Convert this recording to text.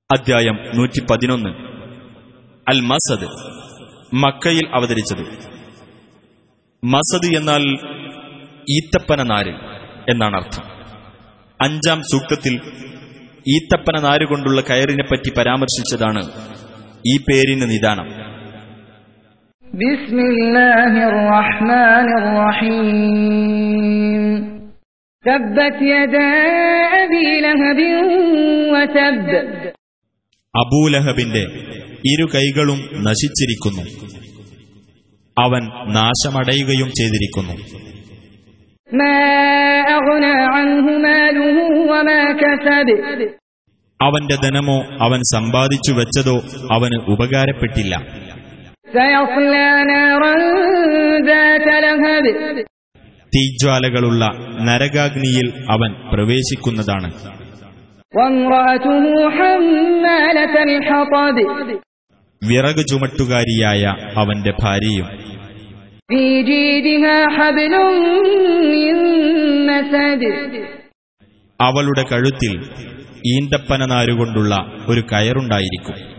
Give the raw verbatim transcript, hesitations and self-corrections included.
അധ്യായം നൂറ്റി പതിനൊന്ന്. അൽ മസദ്, മക്കയിൽ അവതരിച്ചത്. മസദ് എന്നാൽ ഈത്തപ്പന നാര് എന്നാണ് അർത്ഥം. അഞ്ചാം സൂക്തത്തിൽ ഈത്തപ്പന നാരുകൊണ്ടുള്ള കയറിനെപ്പറ്റി പരാമർശിച്ചതാണ് ഈ പേരിന് നിദാനം. ബിസ്മില്ലാഹിർ റഹ്മാനിർ റഹീം. തബ്ബത് യദാ അബീ ലഹബിൻ വതബ്. അബൂലഹബിന്റെ ഇരു കൈകളും നശിച്ചിരിക്കുന്നു, അവൻ നാശമടയുകയും ചെയ്തിരിക്കുന്നു. അവന്റെ ധനമോ അവൻ സമ്പാദിച്ചു വെച്ചതോ അവന് ഉപകാരപ്പെട്ടില്ല. തീജ്വാലകളുള്ള നരകാഗ്നിയിൽ അവൻ പ്രവേശിക്കുന്നതാണ്. വിറക് ചുമട്ടുകാരിയായ അവന്റെ ഭാര്യയും. അവളുടെ കഴുത്തിൽ ഈന്തപ്പന നാരുകൊണ്ടുള്ള ഒരു കയറുണ്ടായിരിക്കും.